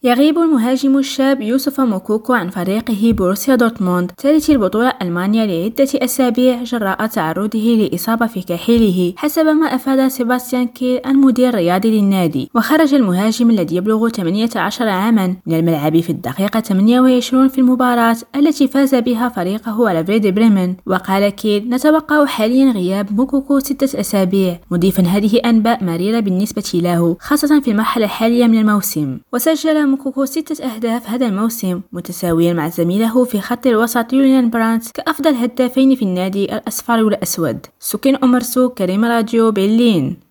يغيب المهاجم الشاب يوسف موكوكو عن فريقه بروسيا دورتموند ثالث البطولة ألمانيا لعدة أسابيع جراء تعرضه لإصابة في كاحله حسب ما أفاد سيباستيان كيل المدير الرياضي للنادي. وخرج المهاجم الذي يبلغ 18 عاما من الملعب في الدقيقة 28 في المباراة التي فاز بها فريقه على فيردر بريمن. وقال كيل: نتوقع حاليا غياب موكوكو 6 أسابيع، مضيفا هذه أنباء مريرة بالنسبة له خاصة في المرحلة الحالية من الموسم. وسجل موكوكو 6 أهداف هذا الموسم متساويا مع زميله في خط الوسط يوليان براندت كأفضل هدافين في النادي الأصفر والأسود. سكين أمرسو، كريم راديو، برلين.